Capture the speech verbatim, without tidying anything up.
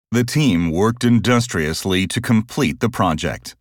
The team worked industriously to complete the project.